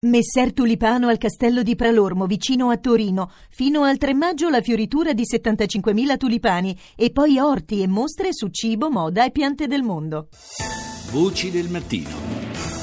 Messer Tulipano al castello di Pralormo, vicino a Torino. Fino al 3 maggio la fioritura di 75.000 tulipani e poi orti e mostre su cibo, moda e piante del mondo. Voci del mattino.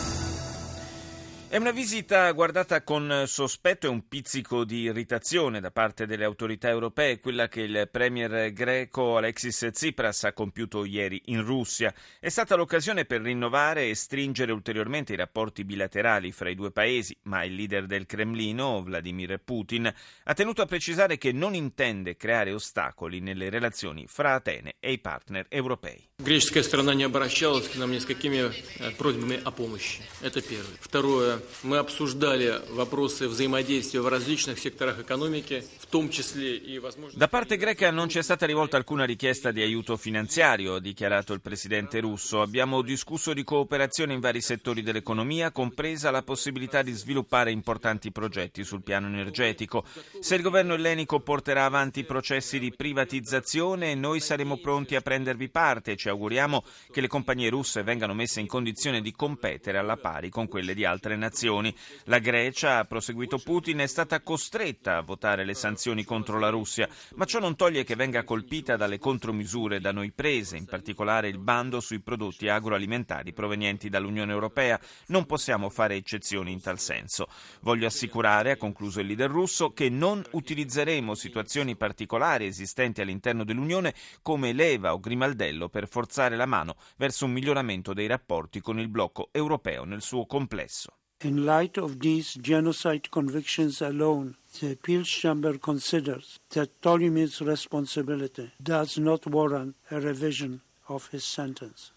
È una visita guardata con sospetto e un pizzico di irritazione da parte delle autorità europee, quella che il premier greco Alexis Tsipras ha compiuto ieri in Russia. È stata l'occasione per rinnovare e stringere ulteriormente i rapporti bilaterali fra i due paesi, ma il leader del Cremlino, Vladimir Putin, ha tenuto a precisare che non intende creare ostacoli nelle relazioni fra Atene e i partner europei. Греческая сторона не обращалась к нам ни с какими просьбами о помощи. Это первое. Второе. Мы обсуждали вопросы взаимодействия в различных секторах экономики, в том числе и возможно. Da parte greca non c'è stata rivolta alcuna richiesta di aiuto finanziario, ha dichiarato il presidente russo. Abbiamo discusso di cooperazione in vari settori dell'economia, compresa la possibilità di sviluppare importanti progetti sul piano energetico. Se il governo ellenico porterà avanti processi di privatizzazione, noi saremo pronti a prendervi parte. Ci auguriamo che le compagnie russe vengano messe in condizione di competere alla pari con quelle di altre nazioni. La Grecia, ha proseguito Putin, è stata costretta a votare le sanzioni contro la Russia, ma ciò non toglie che venga colpita dalle contromisure da noi prese, in particolare il bando sui prodotti agroalimentari provenienti dall'Unione Europea. Non possiamo fare eccezioni in tal senso. Voglio assicurare, ha concluso il leader russo, che non utilizzeremo situazioni particolari esistenti all'interno dell'Unione come leva o grimaldello per forzare la mano verso un miglioramento dei rapporti con il blocco europeo nel suo complesso. In light of these genocide convictions alone, the Appeals Chamber considers that Ptolemy's responsibility does not warrant a revision of his sentence.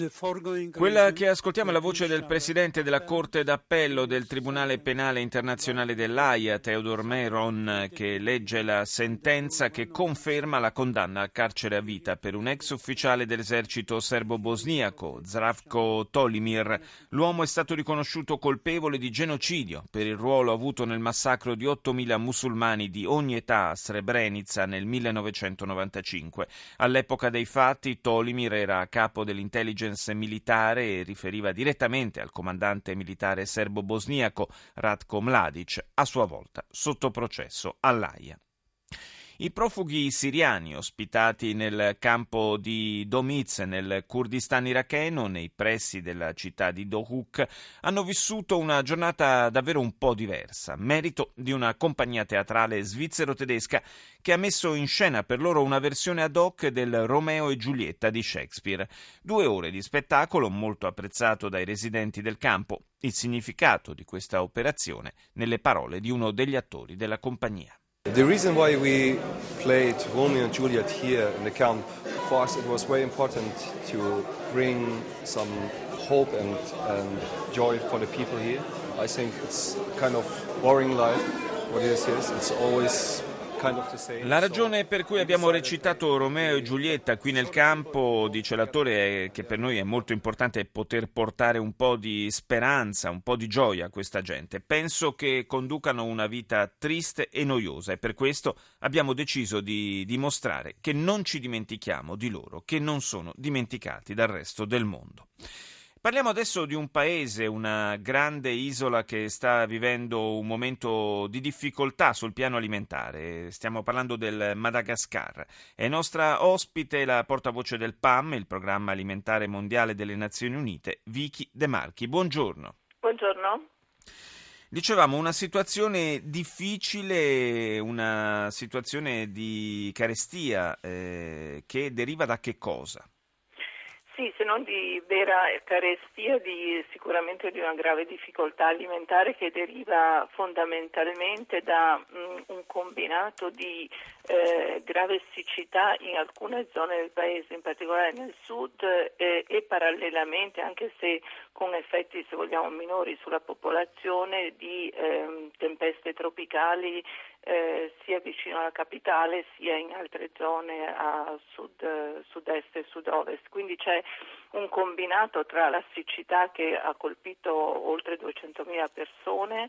Quella che ascoltiamo è la voce del presidente della Corte d'Appello del Tribunale Penale Internazionale dell'Aia, Theodor Meron, che legge la sentenza che conferma la condanna al carcere a vita per un ex ufficiale dell'esercito serbo-bosniaco, Zdravko Tolimir. L'uomo è stato riconosciuto colpevole di genocidio per il ruolo avuto nel massacro di 8.000 musulmani di ogni età a Srebrenica nel 1995. All'epoca dei fatti Tolimir era a capo dell'intelligence militare e riferiva direttamente al comandante militare serbo-bosniaco Ratko Mladic, a sua volta sotto processo all'Aia. I profughi siriani ospitati nel campo di Domiz nel Kurdistan iracheno, nei pressi della città di Dohuk, hanno vissuto una giornata davvero un po' diversa, merito di una compagnia teatrale svizzero-tedesca che ha messo in scena per loro una versione ad hoc del Romeo e Giulietta di Shakespeare. 2 ore di spettacolo molto apprezzato dai residenti del campo. Il significato di questa operazione nelle parole di uno degli attori della compagnia. The reason why we played Romeo and Juliet here in the camp, for us it was very important to bring some hope and joy for the people here. I think it's kind of boring life, what it is here. It's always kind of the same. La ragione per cui abbiamo recitato Romeo e Giulietta qui nel campo, dice l'attore, è che per noi è molto importante poter portare un po' di speranza, un po' di gioia a questa gente. Penso che conducano una vita triste e noiosa e per questo abbiamo deciso di dimostrare che non ci dimentichiamo di loro, che non sono dimenticati dal resto del mondo. Parliamo adesso di un paese, una grande isola che sta vivendo un momento di difficoltà sul piano alimentare. Stiamo parlando del Madagascar. È nostra ospite la portavoce del PAM, il Programma Alimentare Mondiale delle Nazioni Unite, Vicky De Marchi. Buongiorno. Buongiorno. Dicevamo, una situazione difficile, una situazione di carestia che deriva da che cosa? Sì, se non di vera carestia, sicuramente di una grave difficoltà alimentare che deriva fondamentalmente da un combinato di grave siccità in alcune zone del paese, in particolare nel sud e parallelamente, anche se con effetti, se vogliamo, minori sulla popolazione, di tempeste tropicali sia vicino alla capitale sia in altre zone a sud-est e sud-ovest. Quindi c'è un combinato tra la siccità che ha colpito oltre 200.000 persone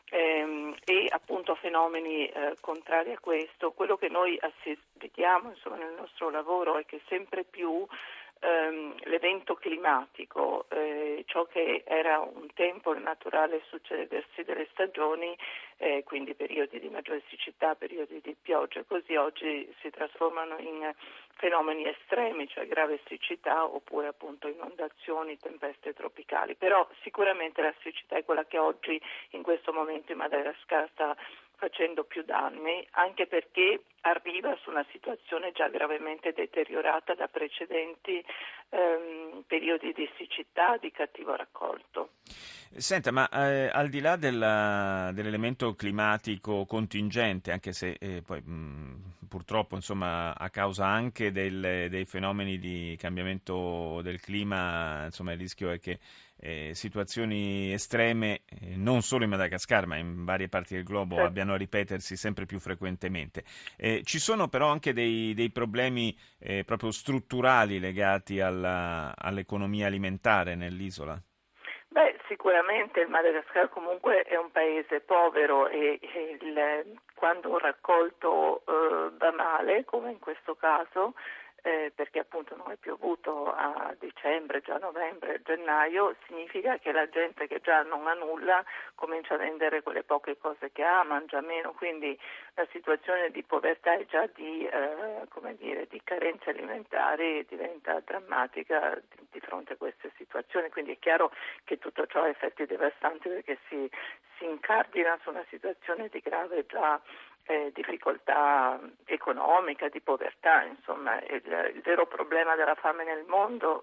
e appunto fenomeni contrari a questo. Quello che noi vediamo nel nostro lavoro è che sempre più l'evento climatico, ciò che era un tempo il naturale succedersi delle stagioni, quindi periodi di maggiore siccità, periodi di pioggia, così oggi si trasformano in fenomeni estremi, cioè grave siccità oppure appunto inondazioni, tempeste tropicali. Però sicuramente la siccità è quella che oggi in questo momento in Madagascar sta facendo più danni, anche perché arriva su una situazione già gravemente deteriorata da precedenti periodi di siccità, di cattivo raccolto. Senta, ma al di là dell'elemento climatico contingente, anche se poi purtroppo insomma a causa anche dei fenomeni di cambiamento del clima, insomma il rischio è che situazioni estreme non solo in Madagascar ma in varie parti del globo abbiano a ripetersi sempre più frequentemente. Ci sono però anche dei problemi proprio strutturali legati all'economia alimentare nell'isola? Sicuramente il Madagascar comunque è un paese povero e quando un raccolto va male, come in questo caso, perché appunto non è piovuto a dicembre, già novembre, gennaio, significa che la gente che già non ha nulla comincia a vendere quelle poche cose che ha, mangia meno, quindi la situazione di povertà e già di carenze alimentari diventa drammatica di fronte a queste situazioni, quindi è chiaro che tutto ciò ha effetti devastanti perché si incardina su una situazione di grave già difficoltà economica, di povertà, insomma il vero problema della fame nel mondo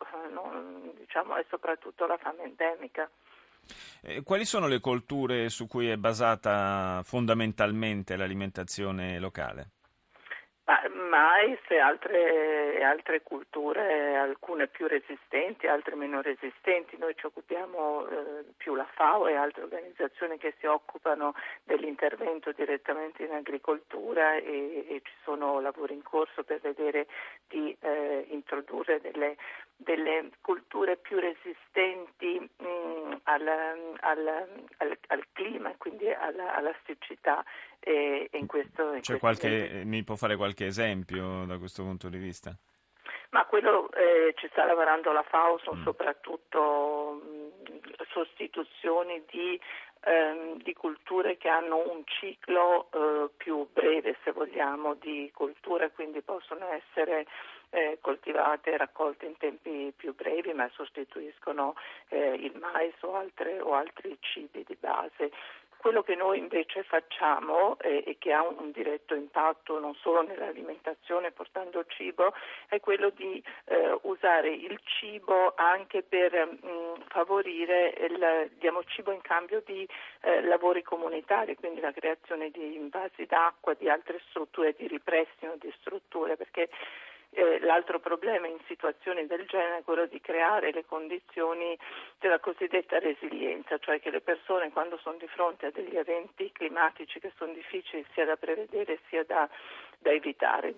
è soprattutto la fame endemica. Quali sono le colture su cui è basata fondamentalmente l'alimentazione locale? Mais e altre culture, alcune più resistenti, altre meno resistenti. Noi ci occupiamo più la FAO e altre organizzazioni che si occupano dell'intervento direttamente in agricoltura e ci sono lavori in corso per vedere di introdurre delle culture più resistenti al clima, quindi alla siccità. Mi può fare qualche esempio da questo punto di vista? Ma quello ci sta lavorando la FAO, sono soprattutto sostituzioni di culture che hanno un ciclo più breve, se vogliamo, di coltura, quindi possono essere coltivate e raccolte in tempi più brevi, ma sostituiscono il mais o altri cibi di base. Quello che noi invece facciamo e che ha un diretto impatto non solo nell'alimentazione portando cibo è quello di usare il cibo anche per favorire diamo cibo in cambio di lavori comunitari, quindi la creazione di invasi d'acqua, di altre strutture, di ripristino di strutture, perché l'altro problema in situazioni del genere è quello di creare le condizioni della cosiddetta resilienza, cioè che le persone quando sono di fronte a degli eventi climatici che sono difficili sia da prevedere sia da evitare,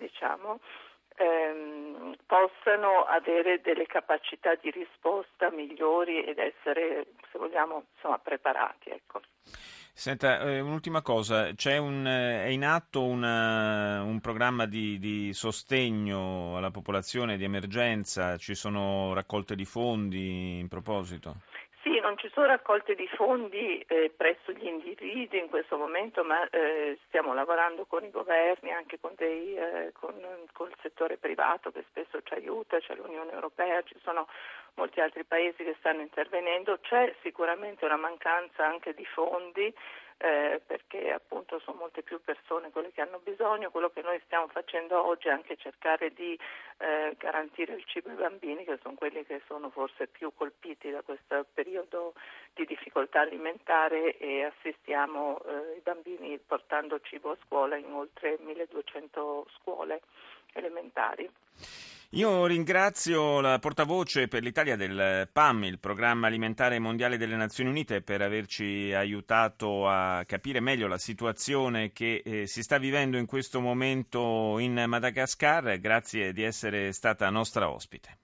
possano avere delle capacità di risposta migliori ed essere, se vogliamo, preparati, ecco. Senta, un'ultima cosa, è in atto un programma di sostegno alla popolazione di emergenza, ci sono raccolte di fondi in proposito? Sì, non ci sono raccolte di fondi presso gli individui in questo momento, ma stiamo lavorando con i governi, anche con il settore privato che spesso ci aiuta, c'è l'Unione Europea, ci sono molti altri paesi che stanno intervenendo. C'è sicuramente una mancanza anche di fondi perché appunto sono molte più persone quelle che hanno bisogno. Quello che noi stiamo facendo oggi è anche cercare di garantire il cibo ai bambini, che sono quelli che sono forse più colpiti da questo periodo di difficoltà alimentare, e assistiamo i bambini portando cibo a scuola in oltre 1200 scuole elementari. Io ringrazio la portavoce per l'Italia del PAM, il Programma Alimentare Mondiale delle Nazioni Unite, per averci aiutato a capire meglio la situazione che si sta vivendo in questo momento in Madagascar. Grazie di essere stata nostra ospite.